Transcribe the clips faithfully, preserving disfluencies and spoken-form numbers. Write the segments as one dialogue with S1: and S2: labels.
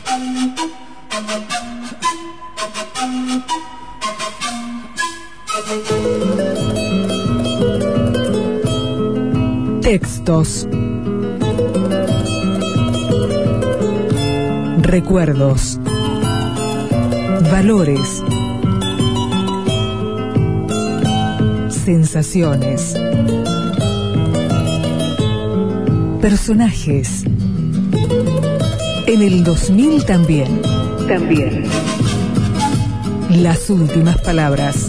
S1: Textos, recuerdos, valores, sensaciones, personajes. En el dos mil también. También. Las últimas palabras.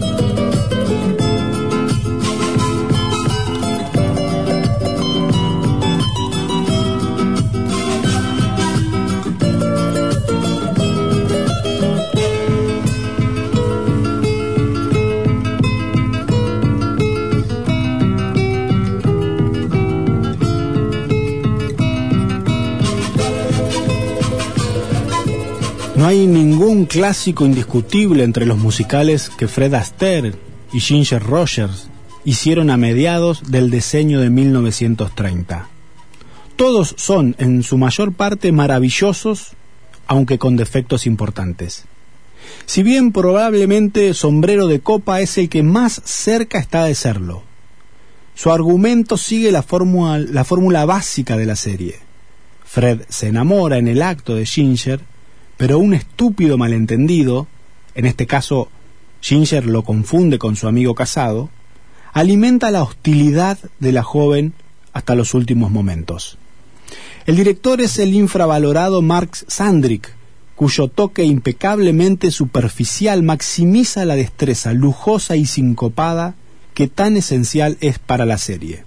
S2: No hay ningún clásico indiscutible entre los musicales que Fred Astaire y Ginger Rogers hicieron a mediados del decenio de mil novecientos treinta. Todos son, en su mayor parte, maravillosos, aunque con defectos importantes. Si bien probablemente Sombrero de Copa es el que más cerca está de serlo, su argumento sigue la fórmula, la fórmula básica de la serie. Fred se enamora en el acto de Ginger, pero un estúpido malentendido, en este caso Ginger lo confunde con su amigo casado, alimenta la hostilidad de la joven hasta los últimos momentos. El director es el infravalorado Mark Sandrick, cuyo toque impecablemente superficial maximiza la destreza lujosa y sincopada que tan esencial es para la serie.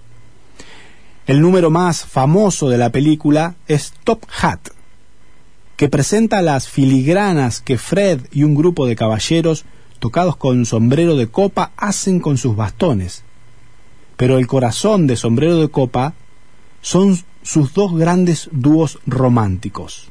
S2: El número más famoso de la película es Top Hat, que presenta las filigranas que Fred y un grupo de caballeros tocados con sombrero de copa hacen con sus bastones. Pero el corazón de Sombrero de Copa son sus dos grandes dúos románticos.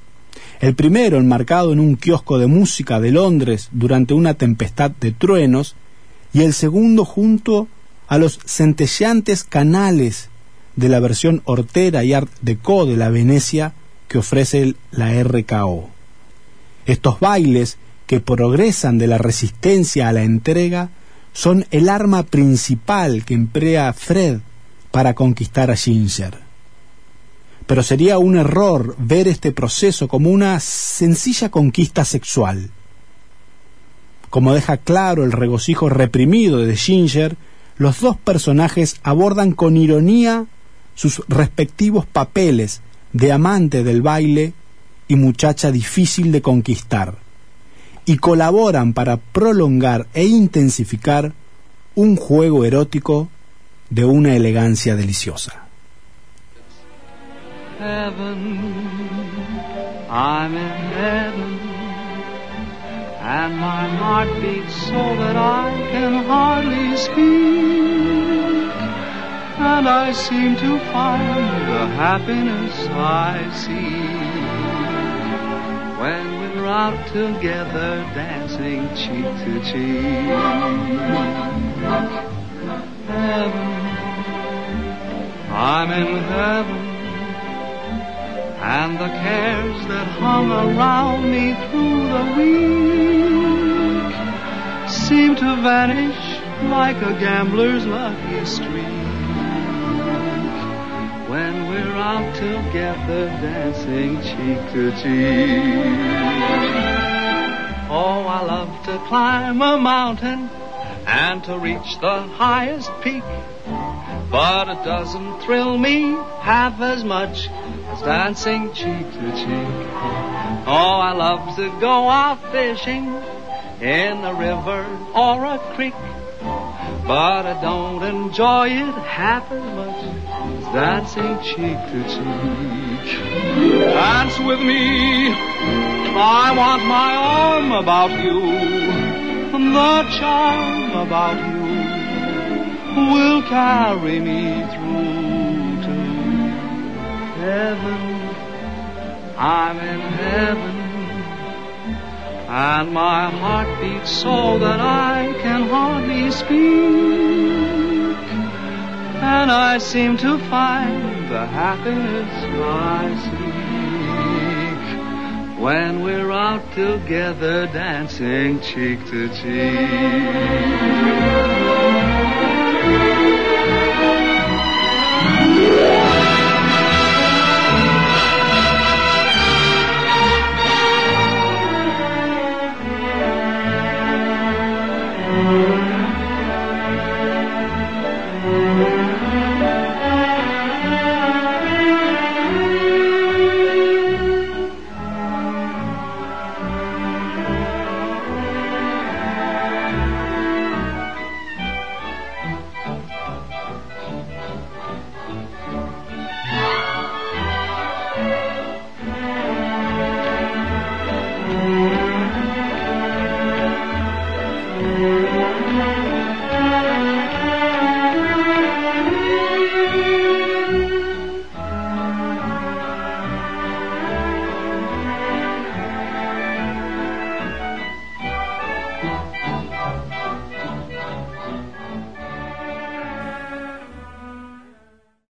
S2: El primero enmarcado en un kiosco de música de Londres durante una tempestad de truenos, y el segundo junto a los centelleantes canales de la versión hortera y art déco de la Venecia que ofrece la R K O. Estos bailes que progresan de la resistencia a la entrega son el arma principal que emplea Fred para conquistar a Ginger. Pero sería un error ver este proceso como una sencilla conquista sexual. Como deja claro el regocijo reprimido de Ginger, los dos personajes abordan con ironía sus respectivos papeles de amante del baile y muchacha difícil de conquistar, y colaboran para prolongar e intensificar un juego erótico de una elegancia deliciosa.
S3: Heaven, I'm in heaven, and my heart beats so that I can hardly speak, and I seem to find the happiness I seek when we're out together dancing cheek to cheek. Heaven, I'm in heaven, and the cares that hung around me through the week seem to vanish like a gambler's lucky streak when we're out together dancing cheek to cheek. Oh, I love to climb a mountain and to reach the highest peak, but it doesn't thrill me half as much as dancing cheek to cheek. Oh, I love to go out fishing in a river or a creek, but I don't enjoy it half as much as dancing cheek to cheek. Dance with me, I want my arm about you, the charm about you will carry me through to heaven. I'm in heaven, and my heart beats so that I can hardly speak, and I seem to find the happiness I seek when we're out together dancing cheek to cheek.